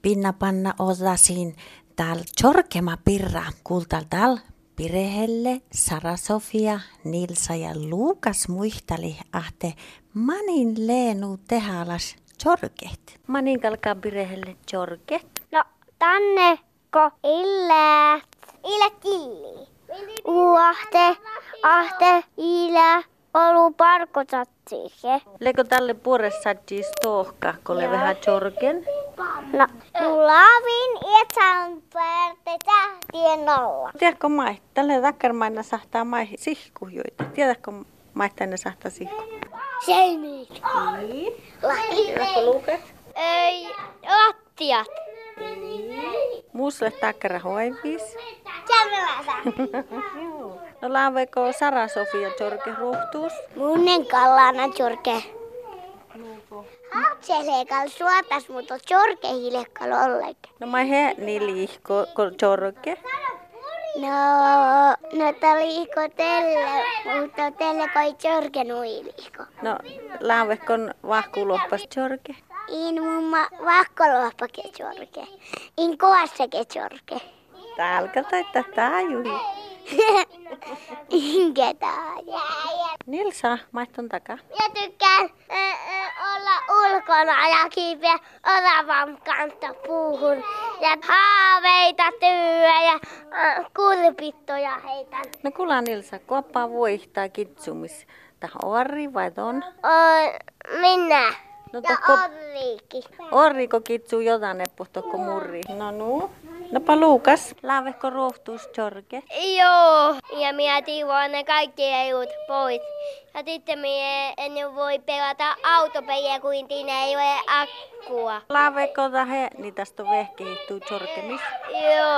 pinna panna osasin tal chorkema pirra kultal tal Pirehelle, Sara-Sofia, Nilsa ja Luukas muistali ahte manin leenu tehalas chorket. Manin kalkaa Pirehelle chorket. No tänne ko illät illi. Ahte ilä olu parkotatsiike. Leko tälle puoressattis tohka, kun le vähän chorken? No, lavin etsän pärte tähtien nolla. Tiedätkö mai? Tälle rakkarmaina sahtaa mai sihkujoita. Tiedätkö maittain ne sahtaa sihku? Seinit. Tiedätkö Luukas? Ei, lattiat. Muusle takkara hoivis. Käveläsä. No laaveko Sara-Sofia chorke ruhtuus? Munnen kallana chorke. Hatselekal suotas, mutta chorke hilekkal ollenkaan. No mai he liihko chorke. No liihko telle, mutta telle kai chorke nuiliihko. No laavekon vahkuloppas chorke. In mumma vahkoloppake chorke. In koassake chorke. Tälkä taittaa taajuhi. Inkä taaja. Nilsa, maitton takaa. Ja tykkään olla ulkona ja kiipeä oravan kanssa puuhun. Ja haaveita tyyä ja kurpittoja heitän. No kuule Nilsa, kuoppaa voihtaa kitsumis. Tähän orri vai ton? Minä. No Ja tohko Orriikki. orriko kitsuu jotain tohko murri. No. Nopa Luukas, laavekko ruhtuus chorke. Joo, ja minä tiivoan ne kaikki eut pois. Ja sitten minä en voi pelata autopeliä, kun siinä ei ole akkua. Laavekko tahe, niin tästä on vehkehittuu chorkemis. Joo.